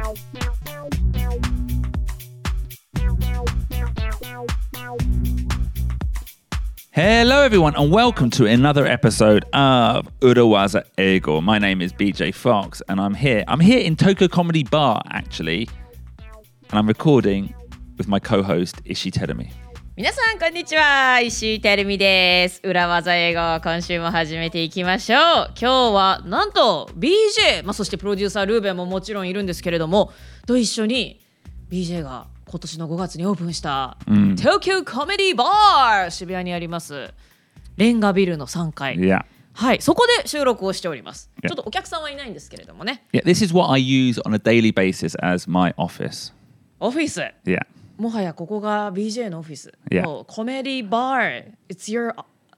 Hello everyone and welcome to another episode of Urawaza Eigo. My name is BJ Fox and I'm here in Tokyo Comedy Bar actually, and I'm recording with my co-host Ishii Terumi. 皆さんこんにちは、石井てるみです。裏技英語、今週も始めていきましょう。今日はなんと BJ、そしてプロデューサールーベンももちろんいるんですけれども、と一緒に BJ が今年の5月にオープンした、Tokyo Comedy Bar 渋谷にありますレンガビルの3階、はい、そこで収録をしております。ちょっとお客さんはいないんですけれどもね。 This is what I use on a daily basis as my office. オフィス。 Yeah. もはやここが BJ のオフィス。 Yeah. コメディバー。It's your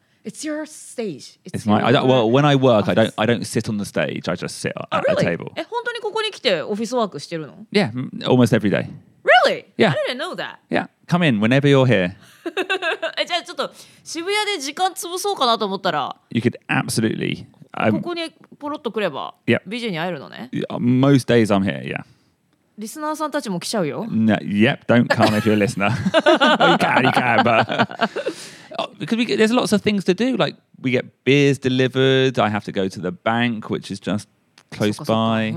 stage. It's my. Well, when I work, I don't sit on the stage. I just sit at a table. 本当にここに来てオフィスワークしてるの？ Yeah, almost every day. Really? Yeah. I didn't know that. Yeah, come in whenever you're here. じゃあちょっと渋谷で時間潰そうかなと思ったら You could absolutely. ここにポロッと来れば BJ に会えるのね。 Most days I'm here, yeah. リスナーさんたちも来ちゃうよ。 No, yep, don't come if you're a listener. You can, but because there's lots of things to do. Like we get beers delivered. I have to go to the bank, which is just close by.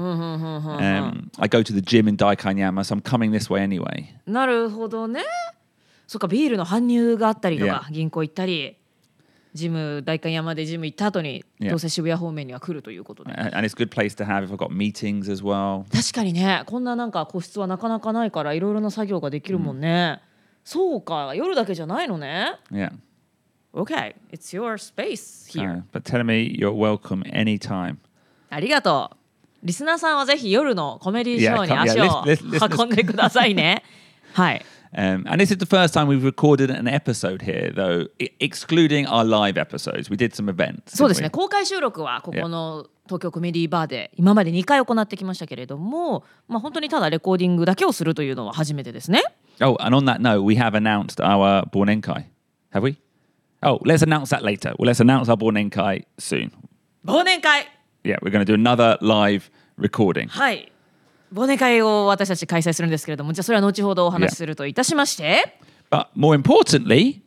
I go to the gym in Daikanyama, so I'm coming this way anyway. なるほどね。そっか、ビールの搬入があったりとか、銀行行ったり、ジム代官山でジム行った後に、どうせ渋谷方面には来るということで。 And it's a good place to have if I've got meetings as well. 確かにね、こんななんか個室はなかなかないからいろいろな作業ができるもんね。そうか、夜だけじゃないのね。 Yeah. Okay, it's your space here. But tell me you're welcome anytime. ありがとう。リスナーさんはぜひ夜のコメディショーに足を運んでくださいね。はい。 And this is the first time we've recorded an episode here, though, excluding our live episodes. We did some events. そうですね。公開収録はここの東京コメディバーで今まで2回行ってきましたけれども、本当にただレコーディングだけをするというのは初めてですね。 Oh, and on that note, we have announced our Bornenkai. Have we? Oh, let's announce that later. Well, let's announce our Bornenkai soon. 忘年会 Yeah, we're going to do another live recording. はい。忘年会を私たち開催するんですけれども、じゃあそれは後ほどお話しするといたしまして。 But more importantly,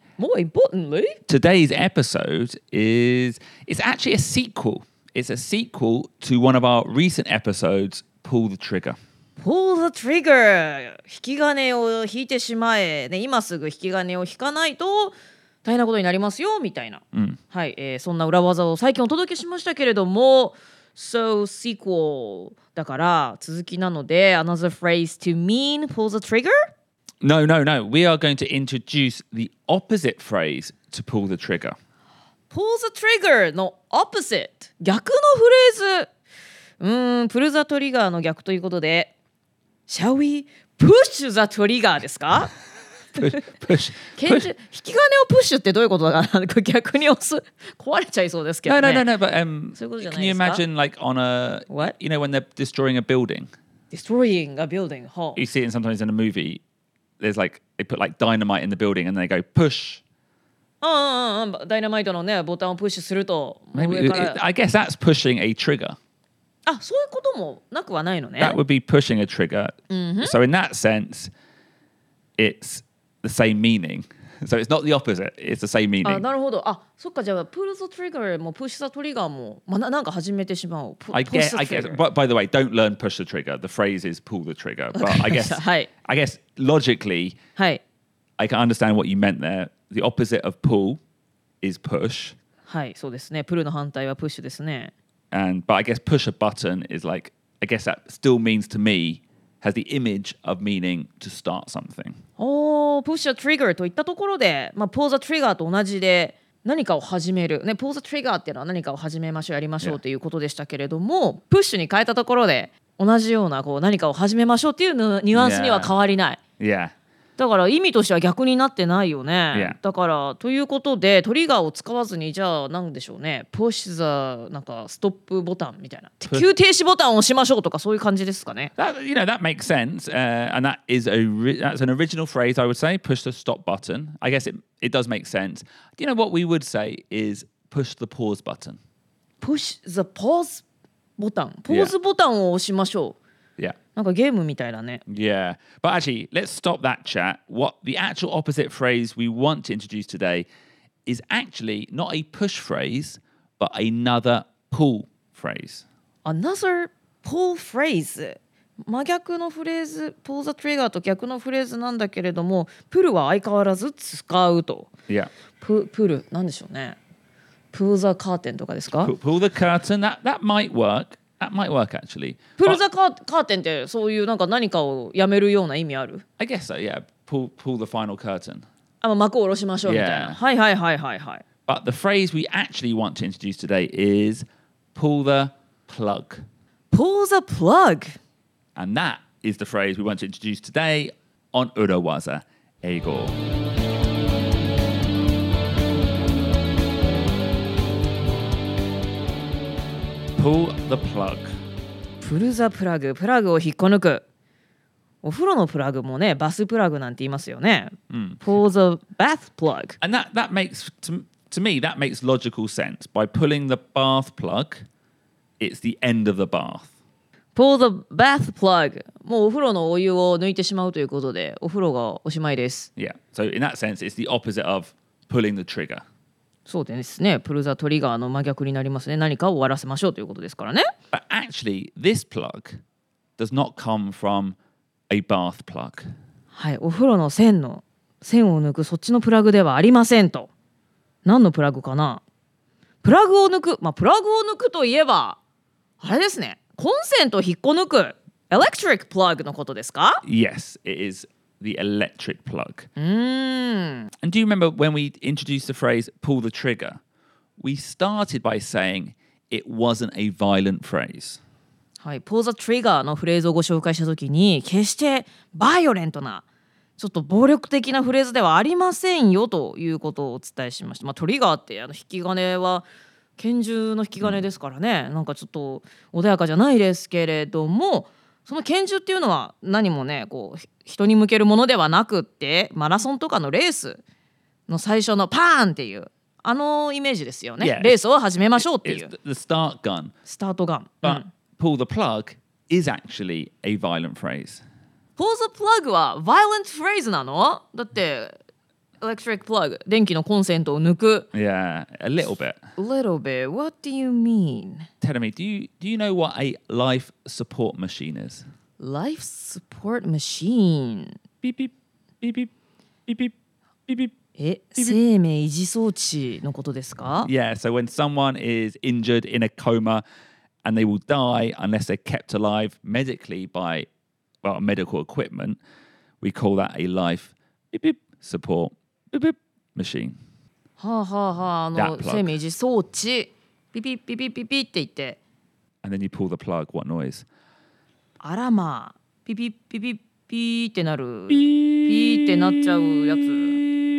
today's episode is actually a sequel. It's a sequel to one of our recent episodes, Pull the Trigger. Pull the trigger! 引き金を引いてしまえ。ね、今すぐ引き金を引かないと大変なことになりますよ、みたいな。はい、そんな裏技を最近お届けしましたけれども、So sequel だから続きなので another phrase to mean pull the trigger? No. We are going to introduce the opposite phrase to pull the trigger. Pull the trigger の opposite 逆のフレーズ。pull the trigger の逆ということで Shall we push the trigger ですか push. 引き金をプッシュってどういうことだかな逆に押す壊れちゃいそうですけどね。 No. But そういうことじゃな can い you ですか imagine like on a What? You know when they're destroying a building? Destroying a building. You see it sometimes in a movie. There's like they put like dynamite in the building and they go push. ダイナマイトのねボタンをプッシュすると Maybe, 上から I guess that's pushing a trigger. あ、そういうこともなくはないのね。 That would be pushing a trigger. So in that sense, it's the same meaning. So it's not the opposite. It's the same meaning. あ、なるほど。あ、そっか、じゃあ pull the trigger も push the trigger も、なんか始めてしまう。 I guess. But by the way, don't learn push the trigger. The phrase is pull the trigger. But I guess. はい。 I guess logically, はい。 I can understand what you meant there. The opposite of pull is push. はい、そうですね。pull の反対は push ですね。 But I guess push a button is like, I guess that still means to me, has the image of meaning to start something. push a trigger といったところで、pull the trigger と同じで何かを始める。ね、pull the trigger っていうのは何かを始めましょう、やりましょうということでしたけれども、プッシュに変えたところで同じようなこう何かを始めましょうっていうニュアンスには変わりない。 Yeah. だから意味としては逆になってないよね。 Yeah. だからということでトリガーを使わずにじゃあ何でしょうね。push the なんかストップボタンみたいな。急停止ボタンを押しましょうとかそういう感じですかね。 That makes sense, and that's an original phrase I would say. Push the stop button. I guess it does make sense. What we would say is push the pause button. Push the pause ボタン。ポーズボタンを押しましょう。 Yeah. なんかゲームみたいだね。 Yeah. But actually, let's stop that chat. What the actual opposite phrase we want to introduce today is actually not a push phrase, but another pull phrase. Another pull phrase 真逆のフレーズ pull the trigger と逆のフレーズなんだけれども pull は相変わらず使うと Yeah. pull なんでしょうね pull the curtain とかですか Pull the curtain. That might work. That might work actually. pull But the curtain ってそういうなんか何かをやめるような意味ある I guess so, yeah. Pull the final curtain. 幕を下ろしましょうみたいな Yeah. はいはいはいはいはい But the phrase we actually want to introduce today is pull the plug. pull the plug And that is the phrase we want to introduce today on Urawaza Eigo. Pull the plug. プルザプラグプラグを引っこ抜くお風呂のプラグもねバスプラグなんて言いますよね、pull the bath plug And that makes, to me, that makes logical sense. By pulling the bath plug, it's the end of the bath. pull the bath plug もうお風呂のお湯を抜いてしまうということでお風呂がおしまいです Yeah. So in that sense, it's the opposite of pulling the trigger. そうですねプルザトリガーの真逆になりますね何かを終わらせましょうということですからね But actually, this plug does not come from a bath plug. はいお風呂の線を抜くそっちのプラグではありませんと何のプラグかなプラグを抜くプラグを抜くといえばあれですねコンセントを引っこ抜く electric plug のことですか Yes, it is the electric plug. うーん And do you remember when we introduced the phrase pull the trigger? We started by saying it wasn't a violent phrase. はい、pull the trigger のフレーズをご紹介したときに決してバイオレントなちょっと暴力的なフレーズではありませんよということをお伝えしました、トリガーって引き金は拳銃の引き金ですからね、なんかちょっと穏やかじゃないですけれどもその拳銃っていうのは何もねこう人に向けるものではなくってマラソンとかのレースの最初のパーンっていうイメージですよね、 Yeah, レースを始めましょうってい It's う the start gun. スタートガン、 But pull the plug is actually a violent phrase. pull the plug は violent phrase なのだって electric plug 電気のコンセントを抜く Yeah, a little bit. little bit what do you mean Tell me, do you know what a life support machine is? life support machine Beep beep beep beep beep beep beep beep. 生命維持装置のことですか Yeah, so when someone is injured in a coma and they will die unless they're kept alive medically by medical equipment, we call that a life beep beep support beep beep machine. はあはあはあ That plug. 生命維持装置ピピピピピピって言って And then you pull the plug, what noise? あらまあピピピピピってなるピーってなっちゃうやつ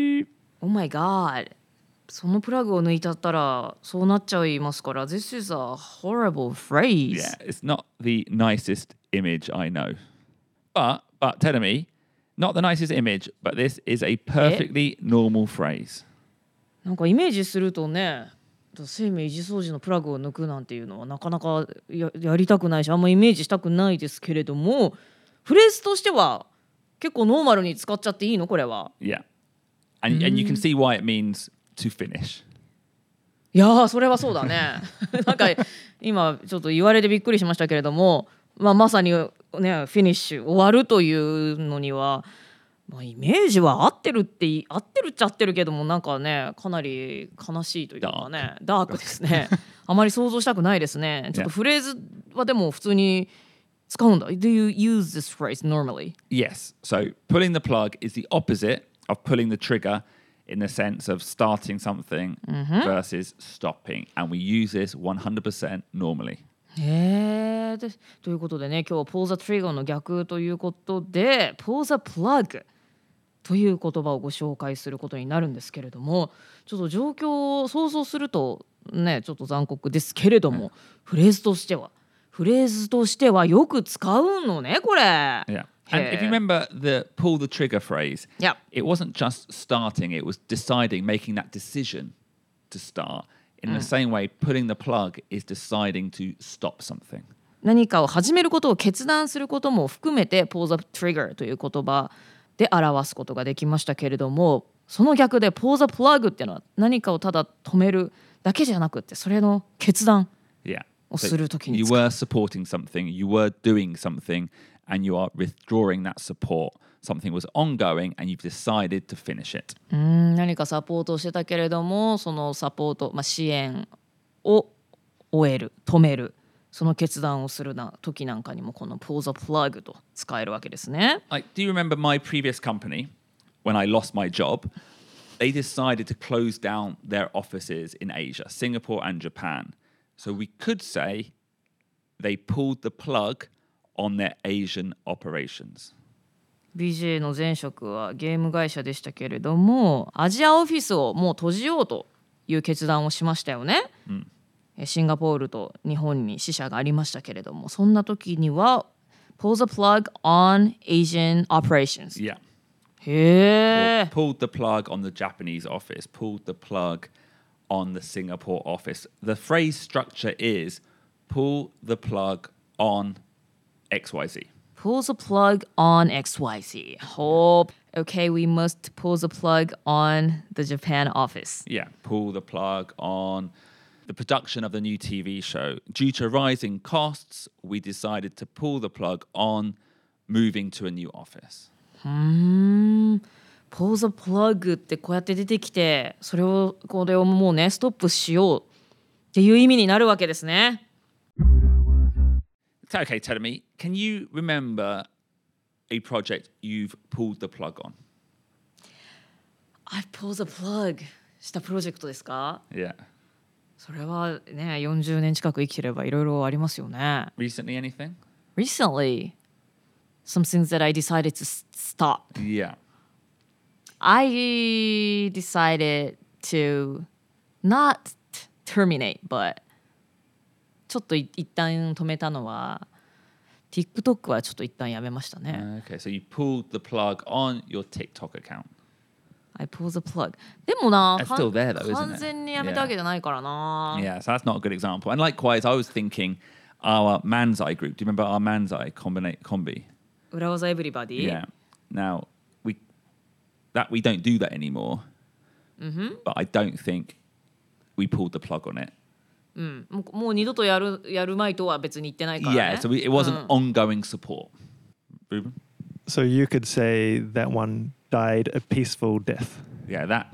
Oh my god そのプラグを抜いちゃったらそうなっちゃいますから This is a horrible phrase Yeah, it's not the nicest image I know. But tell me, not the nicest image, but this is a perfectly normal phrase. なんかイメージするとね生命維持装置のプラグを抜くなんていうのはなかなか やりたくないしあんまイメージしたくないですけれどもフレーズとしては結構ノーマルに使っちゃっていいのこれは Yeah. And you can see why it means to finish. いやーそれはそうだねなんか今ちょっと言われてびっくりしましたけれども、まさにねフィニッシュ終わるというのには、イメージは合ってるっちゃ合ってるけどもなんかねかなり悲しいというかねダークですねあまり想像したくないですねちょっとフレーズはでも普通に使うんだ Do you use this phrase normally? Yes. So pulling the plug is the opposite of pulling the trigger in the sense of starting something versus stopping. And we use this 100% normally. へーということでね今日は pull the trigger の逆ということで pull the plug という言葉をご紹介することになるんですけれどもちょっと状況を想像するとねちょっと残酷ですけれども、フレーズとしてはよく使うのねこれ Yeah. And if you remember the pull the trigger phrase, Yep. it wasn't just starting, it was deciding, making that decision to start. In the same way, putting the plug is deciding to stop something. 何かを始めることを決断することも含めて pull the trigger という言葉で表すことができましたけれども、その逆で pull the plug っていうのは何かをただ止めるだけじゃなくて、それの決断 Yeah. をするときに You 使う。 were supporting something, you were doing something, and you are withdrawing that support. Something was ongoing, and you've decided to finish it. 何かサポートをしてたけれども、そのサポート、支援を終える、止める、その決断をする時なんかにもこの pull the plug と使えるわけですね。 Like, do you remember my previous company when I lost my job? They decided to close down their offices in Asia, Singapore and Japan. So we could say they pulled the plug on their Asian operations. BJ の前職はゲーム会社でしたけれども、アジアオフィスをもう閉じようという決断をしましたよね。シンガポールと日本に支社がありましたけれども、そんな時には pull the plug on Asian operations。 Yeah. へえ。 Pulled the plug on the Japanese office, pulled the plug on the Singapore office. The phrase structure is pull the plug on XYZ. Pull the plug on XYZ. Hope. Okay, we must pull the plug on the Japan office. Yeah, pull the plug on the production of the new TV show. Due to rising costs, we decided to pull the plug on moving to a new office. Pull the plug ってこうやって出てきて、これをもうねストップしようっていう意味になるわけですね。 So, okay, tell me, can you remember a project you've pulled the plug on? I pull the plug したプロジェクトですか？ Yeah. それはね、40年近く生きてればいろいろありますよね。 Recently, anything? Recently, some things that I decided to stop. Yeah. I decided to not terminate, but ちょっと一旦止めたのは TikTok はちょっと一旦やめましたね。 Okay, so you pulled the plug on your TikTok account. I pull the plug. でもな、 It's still there though, isn't it? 完全にやめたわけじゃないからな。 Yeah, so that's not a good example. And likewise, I was thinking our Manzai group. Do you remember our Manzai combi? 裏技エブリバディ。 Yeah. Now we don't do that anymore. But I don't think we pulled the plug on it. もう二度とやるまいとは別に言ってないからね。 Yeah, so it wasn't ongoing support. Ruben? So you could say that one died a peaceful death. Yeah, that.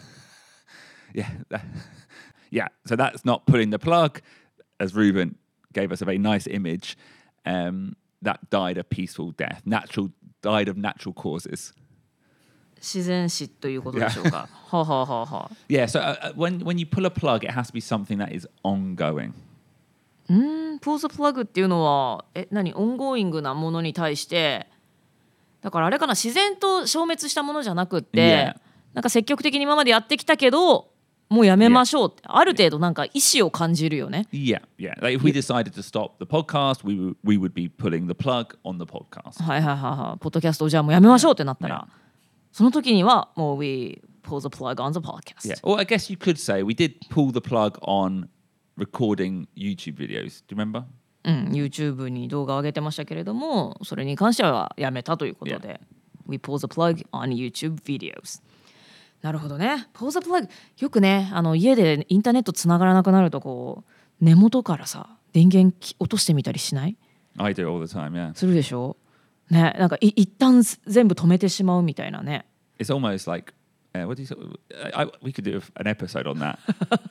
Yeah, so that's not pulling the plug, as Ruben gave us a very nice image. That died a peaceful death. Died of natural causes. 自然死ということでしょうか。はあはあはあはあ。 Yeah, so when you pull a plug, it has to be something that is ongoing. pull the plug っていうのは何オンゴーイングなものに対してだからあれかな、自然と消滅したものじゃなくって、 Yeah. なんか積極的に今までやってきたけどもうやめましょうって、ある程度なんか意思を感じるよね。 Yeah. Like if we decided to stop the podcast, we would be pulling the plug on the podcast. はいはいはいはい。ポッドキャストをじゃあもうやめましょうってなったら、その時にはもう we pull the plug on the podcast. Yeah. Or I guess you could say we did pull the plug on recording YouTube videos. Do you remember? YouTube に動画を上げてましたけれども、それに関してはやめたということで、We pull the plug on YouTube videos。 なるほどね。pull the plug よくね、家でインターネットつながらなくなるとこう根元からさ電源落としてみたりしない？ I do all the time, yeah. するでしょね。なんか一旦全部止めてしまうみたいなね。 It's almost like what do you say? We could do an episode on that.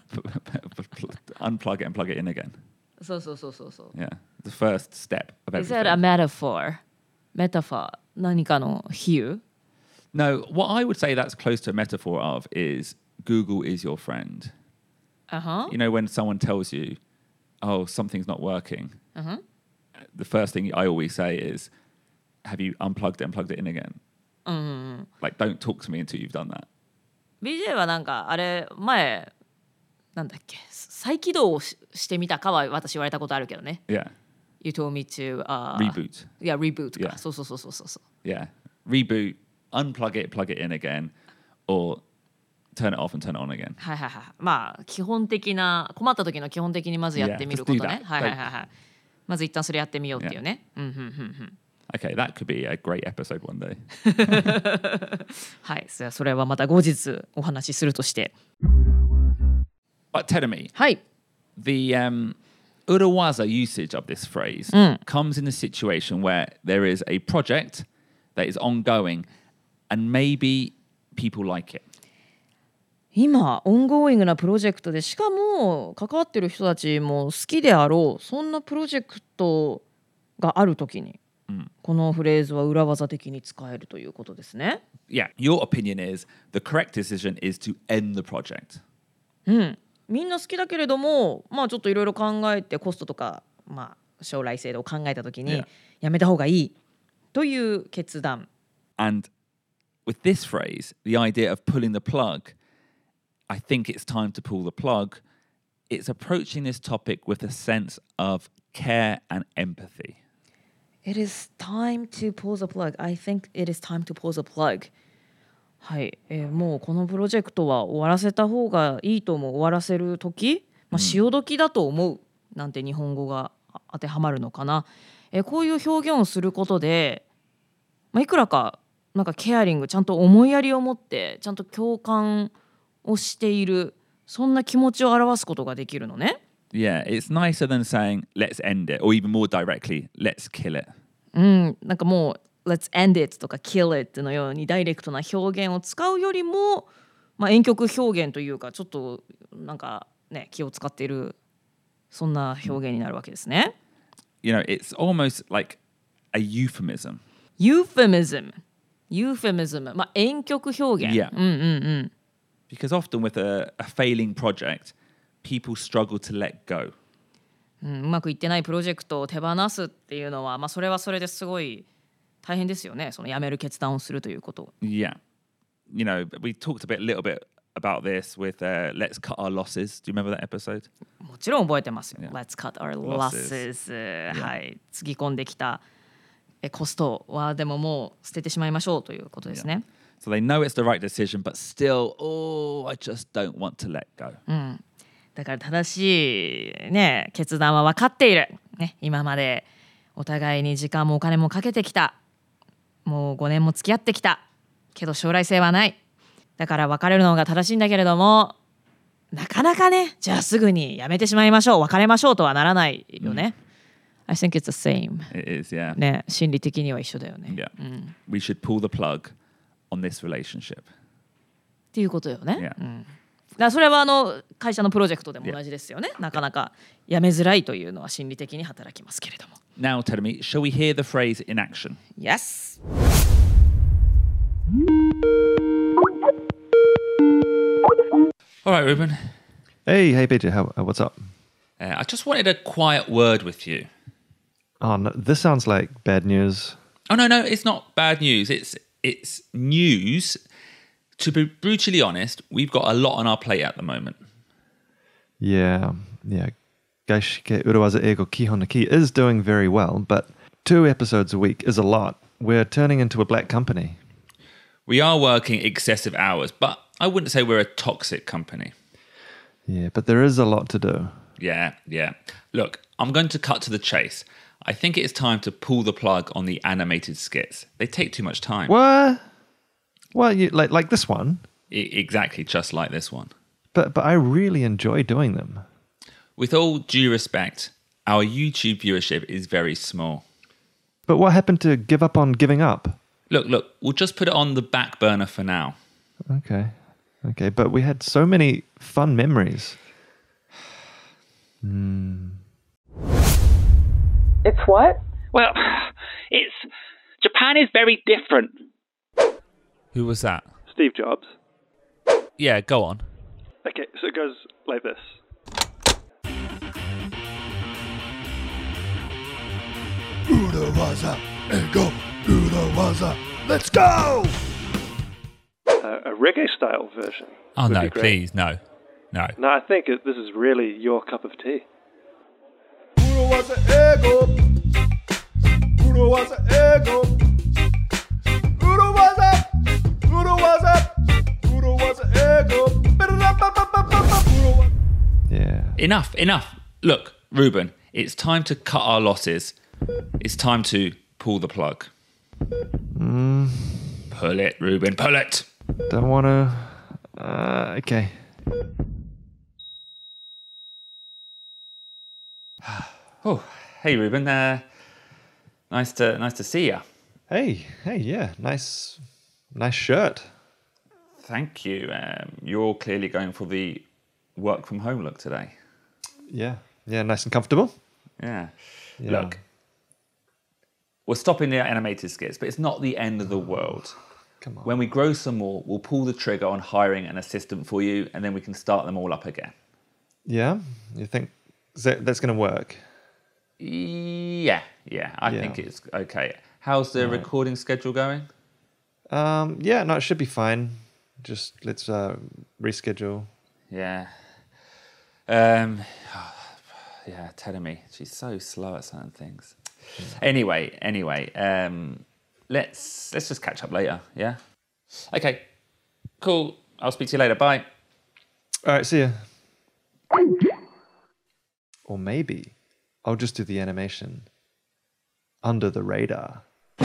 Unplug it and plug it in again. そうそうそうそうそう。 Yeah. The first step of Is that a everything. metaphor? Metaphor 何かの比喩？ No, what I would say that's close to a metaphor of is Google is your friend. Uh-huh. You know, when someone tells you, oh, something's not working, the first thing I always say is, have you unplugged it and plugged it in again? Like, don't talk to me until you've done that. BJ はなんかあれ前なんだっけ再起動をしてみたかは私言われたことあるけどね。 Yeah. You told me to Reboot. Yeah, reboot か。 Yeah. そうそうそうそうそう。 Yeah. Reboot, unplug it, plug it in again, or turn it off and turn it on again. はいはいはい。まあ基本的な困った時の基本的にまずやってみることね。 Yeah, just do that. はいはいはいはい。 まず一旦それやってみようっていうね。 Okay, that could be a great episode one day. はい、それはまた後日お話しするとして。 But tell me, はい。 the urawaza usage of this phrase comes in a situation where there is a project that is ongoing and maybe people like it. 今オンゴーイングなプロジェクトでしかも関わってる人たちも好きであろうそんなプロジェクトがあるときに、このフレーズは裏技的に使えるということですね。 Yeah, your opinion is the correct decision is to end the project. みんな好きだけれども、まあちょっといろいろ考えてコストとか、まあ将来性を考えたときにやめた方がいいという決断。 And with this phrase, the idea of pulling the plug.I think it's time to pull the plug. It's approaching this topic with a sense of care and empathy. It is time to pull the plug. I think it is time to pull the plug. はい、もうこのプロジェクトは終わらせた方がいいと思う。終わらせる時、潮時だと思うなんて日本語が当てはまるのかな。こういう表現をすることで、いくらかなんかケアリング、ちゃんと思いやりを持って、ちゃんと共感をしているそんな気持ちを表すことができるのね。 Yeah, it's nicer than saying let's end it or even more directly let's kill it. なんかもう let's end it とか kill it のようにダイレクトな表現を使うよりも、婉曲表現というかちょっとなんかね気を使っているそんな表現になるわけですね。 You know, it's almost like a euphemism. Euphemism. 婉曲表現。 Yeah.Because often with a failing project, people struggle to let go. うまくいってないプロジェクトを手放すっていうのは、それはそれですごい大変ですよね。そのやめる決断をするということ。 Yeah. You know, we talked a little bit about this with Let's Cut Our Losses. Do you remember that episode? もちろん覚えてますよ。 Yeah. Let's cut our losses. はい。つぎ込んできたコストはでももう捨ててしまいましょうということですね。 So they know it's the right decision, but still, I just don't want to let go. だから正しい、決断は分かっている、今までお互いに時間もお金もかけてきた。もう5年も付き合ってきた。けど将来性はない。だから別れるのが正しいんだけれども、なかなかじゃあすぐにやめてしまいましょう、別れましょうとはならないよね。I think it's the same. It is, yeah. 心理的には一緒だよね。 Yeah. We should pull the plug.on this relationship っていうことよね。 Yeah. だからそれは会社のプロジェクトでも同じですよね。なかなかやめづらいというのは心理的に働きますけれども。 Now tell me, shall we hear the phrase in action? Yes. All right, Ruben. Hey, BJ, what's up? I just wanted a quiet word with you. Oh, no, this sounds like bad news. Oh, no, it's not bad news. It's news. To be brutally honest, we've got a lot on our plate at the moment. Yeah. Gaishike Urawaza Eigo Kihon no Ki is doing very well, but 2 episodes a week is a lot. We're turning into a black company. We are working excessive hours, but I wouldn't say we're a toxic company. Yeah, but there is a lot to do. Yeah. Look, I'm going to cut to the chase. I think it's time to pull the plug on the animated skits. They take too much time. What? Well, you like this one? Exactly, just like this one. But I really enjoy doing them. With all due respect, our YouTube viewership is very small. But what happened to give up on giving up? Look, we'll just put it on the back burner for now. Okay, but we had so many fun memories. It's what? Well, Japan is very different. Who was that? Steve Jobs. Yeah, go on. Okay, so it goes like this. Urawaza, ego, Urawaza, let's go! A reggae-style version. Oh, would no, be great. please, no. No, I think this is really your cup of tea. Urawaza, ego, Urawaza, ego, Urawaza, Urawaza, Urawaza, ego. Yeah. Enough. Look, Ruben, It's time to cut our losses. It's time to pull the plug. Pull it, Ruben, pull it. Don't want to. Okay. Oh, hey, Ruben. Nice to see you. Hey, yeah, nice shirt. Thank you. You're clearly going for the work from home look today. Yeah, nice and comfortable. Yeah. Yeah. Look, we're stopping the animated skits, but it's not the end of the world. Come on. When we grow some more, we'll pull the trigger on hiring an assistant for you, and then we can start them all up again. Yeah, you think that's going to work? Yeah. I think it's okay. How's the recording schedule going? Yeah, no, it should be fine. Just let's reschedule. Yeah. Yeah, telling me she's so slow at certain things. Anyway, let's just catch up later. Yeah. Okay. Cool. I'll speak to you later. Bye. All right, see ya. Or maybe I'll just do the animation under the radar.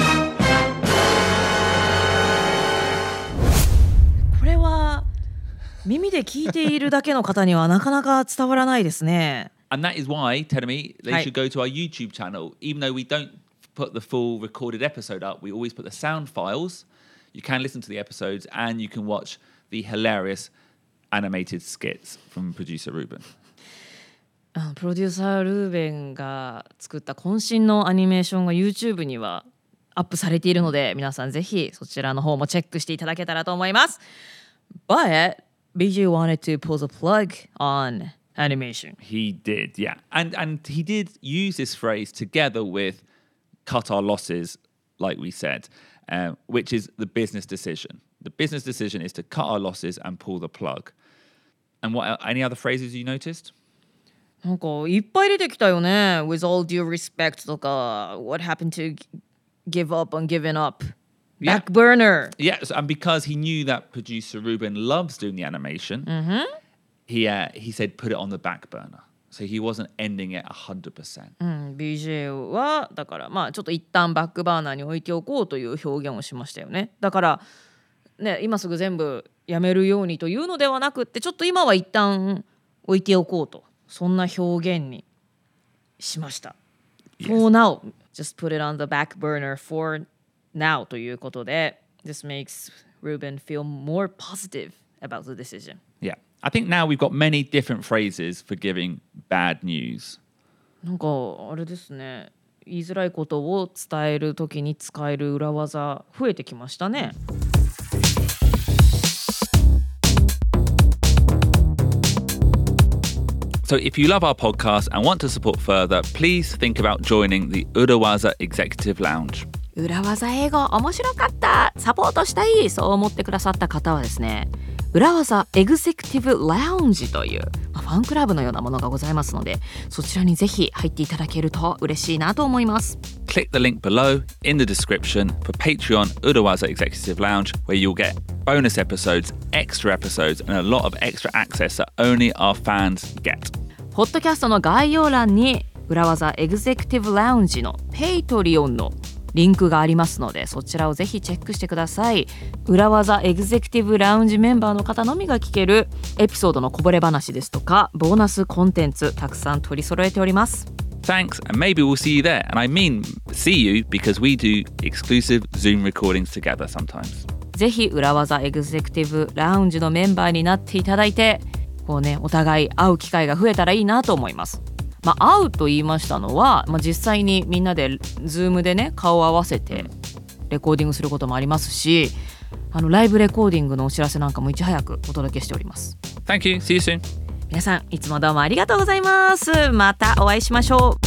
これは耳で聞いているだけの方にはなかなか伝わらないですね。 And that is why, Terumi, they Hi. should go to our YouTube channel. Even though we don't put the full recorded episode up, we always put the sound files. You can listen to the episodes and you can watch the hilarious animated skits from producer Ruben. プロデューサールーベンが作った渾身のアニメーションが YouTube にはアップされているので、皆さんぜひそちらの方もチェックしていただけたらと思います。But BJ wanted to pull the plug on animation. He did, yeah. And he did use this phrase together with cut our losses, like we said, which is the business decision. The business decision is to cut our losses and pull the plug. And what any other phrases you noticed? なんかいっぱい出てきたよね。With all due respect とか What happened to give up on giving up? Yeah. Back burner. Yes, and because he knew that producer Ruben loves doing the animation, he said put it on the back burner. So he wasn't ending it 100%. BJ はだからまあちょっと一旦バックバーナーに置いておこうという表現をしましたよね。だからね、今すぐ全部やめるようにというのではなくって、ちょっと今は一旦置いておこうと、そんな表現にしました。For now, just put it on the back burner for now ということで、This makes Ruben feel more positive about the decision. Yeah. I think now we've got many different phrases for giving bad news. なんかあれですね、言いづらいことを伝えるときに使える裏技増えてきましたね。 So if you love our podcast and want to support further, please think about joining the Urawaza Executive Lounge. 裏技英語面白かった、サポートしたい、そう思ってくださった方はですね、裏技エグゼクティブラウンジという、ファンクラブのようなものがございますので、そちらにぜひ入っていただけると嬉しいなと思います。 Click the link below in the description for Patreon Urawaza Executive Lounge, where you'll get bonus episodes, extra episodes, and a lot of extra access that only our fans get. ポッドキャストの概要欄に裏技エグゼクティブラウンジのペイトリオンのリンクがありますので、そちらをぜひチェックしてください。裏技エグゼクティブラウンジメンバーの方のみが聞けるエピソードのこぼれ話ですとか、ボーナスコンテンツたくさん取り揃えております。 Thanks, and maybe we'll see you there. And I mean see you because we do exclusive Zoom recordings together sometimes. ぜひ裏技エグゼクティブラウンジのメンバーになっていただいて、こうね、お互い会う機会が増えたらいいなと思います。会うと言いましたのは、実際にみんなで Zoom でね、顔を合わせてレコーディングすることもありますし、ライブレコーディングのお知らせなんかもいち早くお届けしております。 Thank you. See you soon. 皆さんいつもどうもありがとうございます。またお会いしましょう。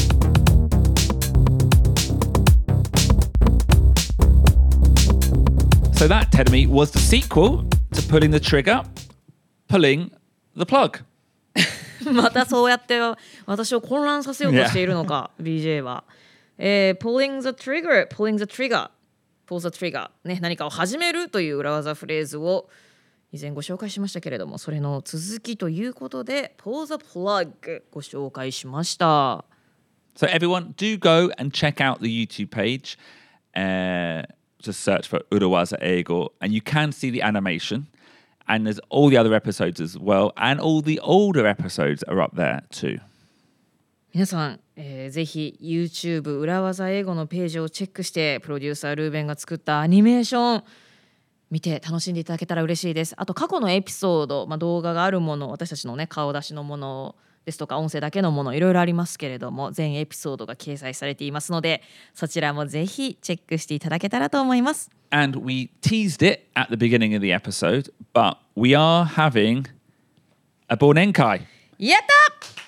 So that, Terumi, was the sequel to Pulling the Trigger, Pulling the Plug. またそうやって私を混乱させようとしているのか、BJ は。Pulling the trigger, pulling the trigger, pull the trigger、ね、何かを始めるという裏技フレーズを以前ご紹介しましたけれども、それの続きということで pull the plug ご紹介しました。 So everyone, do go and check out the YouTube page. Just search for Urawaza Eigo, and you can see the animation. And there's all the other episodes as well, and all the older episodes are up there too. 皆さん、ぜひ YouTube 裏技英語のページをチェックしてプロデューサールーベンが作ったアニメーション見て楽しんでいただけたら嬉しいです。あと過去のエピソード、動画があるもの、私たちのね顔出しのものですとか音声だけのものいろいろありますけれども、全エピソードが掲載されていますので、そちらもぜひチェックしていただけたらと思います。 And we teased it at the beginning of the episode, but we are having a Bornenkai. やった！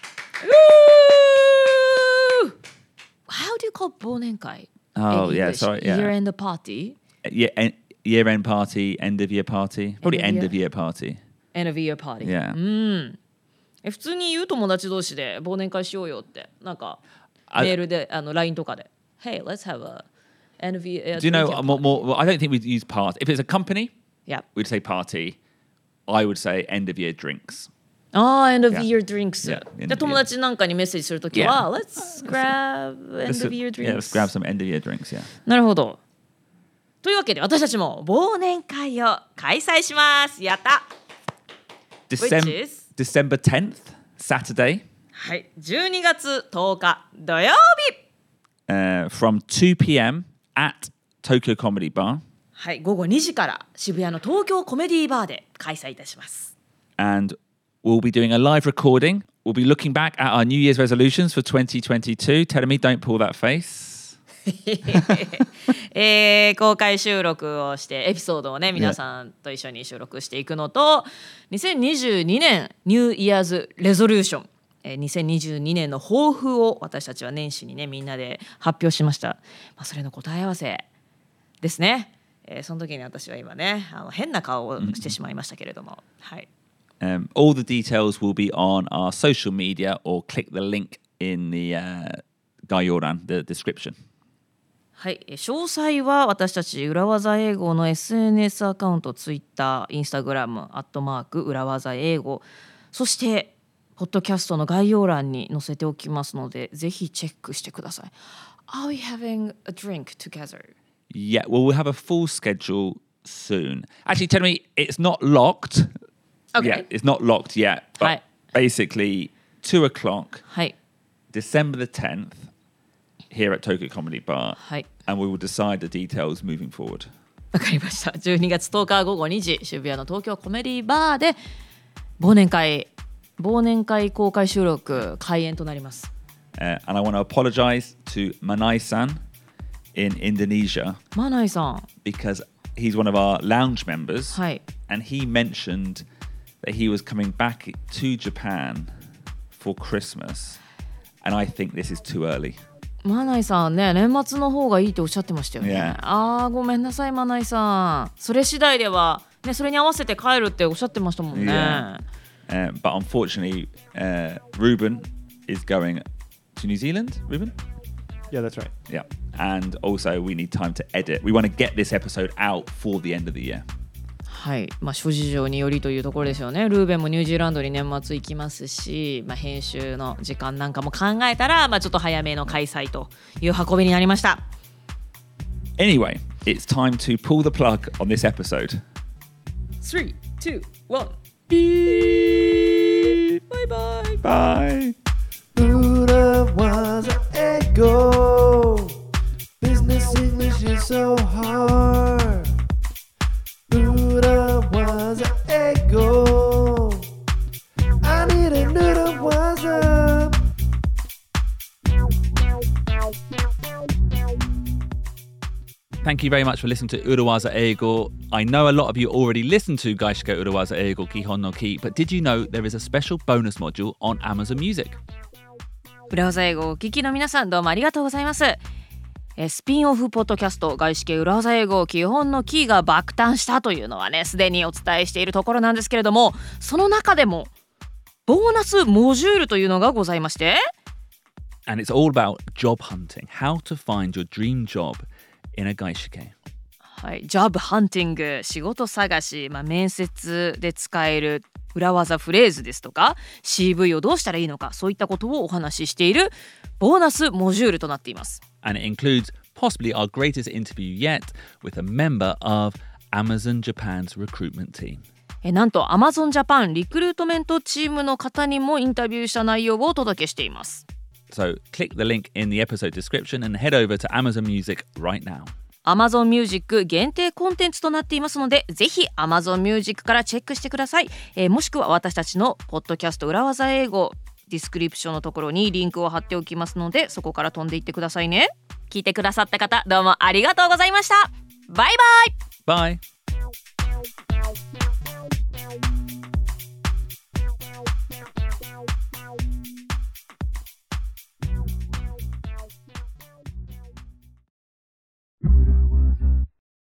How do you call 忘年会? Oh, in yeah, English? sorry. Yeah. Year-end party? Yeah, year-end party, end-of-year party. Probably end-of-year party. End-of-year party. Yeah. 普通に言う友達同士で忘年会しようよってなんかメールでLINE とかで Hey, let's have a end-of-year. Do you know more? I don't think we'd use party. If it's a company, Yeah. we'd say party. I would say end-of-year drinks. End-of-year drinks. Yeah, で友達なんかにメッセージするときは Let's grab end-of-year drinks. Yeah, let's grab some end-of-year drinks. Yeah. なるほど。というわけで私たちも忘年会を開催します。やった。Which is? December 10th, Saturday. はい、12月10日土曜日。 From 2 p.m. at Tokyo Comedy Bar. はい、午後2時から渋谷の東京コメディバーで開催いたします。 And we'll be doing a live recording. We'll be looking back at our New Year's resolutions for 2022. Tell me, don't pull that face. 公開収録をしてエピソードをね皆さんと一緒に収録していくのと、2022年ニューイヤーズレゾリューション、2022年の抱負を私たちは年始にねみんなで発表しました。それの答え合わせですね。その時に私は今ね変な顔をしてしまいましたけれども、はい。 All the details will be on our social media or click the link in the Gayoran, the description. はい、詳細は私たち裏技英語の SNS アカウント、Twitter、Instagram、@裏技英語、そしてポッドキャストの概要欄に載せておきますので、ぜひチェックしてください。Are we having a drink together? Yeah, well, we'll have a full schedule soon. Actually, tell me, it's not locked. Okay. Yeah, it's not locked yet. But はい。 basically, 2 o'clock, はい。 December the 10th, here at Tokyo Comedy Bar. はい。 And we will decide the details moving forward. わかりました。12月10日午後2時、渋谷の東京コメディバーで忘年会公開収録開演となります。 And I want to apologize to Manai-san in Indonesia マナイさん。 because he's one of our lounge members. はい。 And he mentioned that he was coming back to Japan for Christmas. And I think this is too early. マナイさんね、年末の方がいいっておっしゃってましたよね。 Yeah. ごめんなさいマナイさん。それ次第では、ね、それに合わせて帰るっておっしゃってましたもんね。 Yeah. But unfortunately, Ruben is going to New Zealand. Ruben? Yeah, that's right. Yeah. And also we need time to edit. We want to get this episode out for the end of the year. はい、諸事情によりというところですよね。ルーベンもニュージーランドに年末行きますし、編集の時間なんかも考えたら、ちょっと早めの開催という運びになりました。 Anyway, it's time to pull the plug on this episode. 3, 2, 1. Bye bye. Bye. Urawaza Eigo. Business English is so hard. Urawaza Eigo. I need an Urawaza. Thank you very much for listening to Urawaza Eigo. I know a lot of you already listened to Gaishike Urawaza Eigo Kihon no Ki, but did you know there is a special bonus module on Amazon Music? 裏技英語をお聞きの皆さんどうもありがとうございます。スピンオフポッドキャスト外資系裏技英語基本のキーが爆誕したというのはねすでにお伝えしているところなんですけれども、その中でもボーナスモジュールというのがございまして、 And it's all about job hunting, how to find your dream job in a gaishike. はい、ジョブハンティング、仕事探し、面接で使える裏技フレーズですとか CV をどうしたらいいのか、そういったことをお話ししているボーナスモジュールとなっています。 And it includes possibly our greatest interview yet with a member of Amazon Japan's recruitment team. なんと Amazon Japan リクルートメントチームの方にもインタビューした内容をお届けしています。 So click the link in the episode description and head over to Amazon Music right now. Amazon Music 限定コンテンツとなっていますので、ぜひ Amazon Music からチェックしてください。もしくは私たちのポッドキャスト裏技英語ディスクリプションのところにリンクを貼っておきますので、そこから飛んでいってくださいね。聞いてくださった方、どうもありがとうございました。バイバイ。 Bye.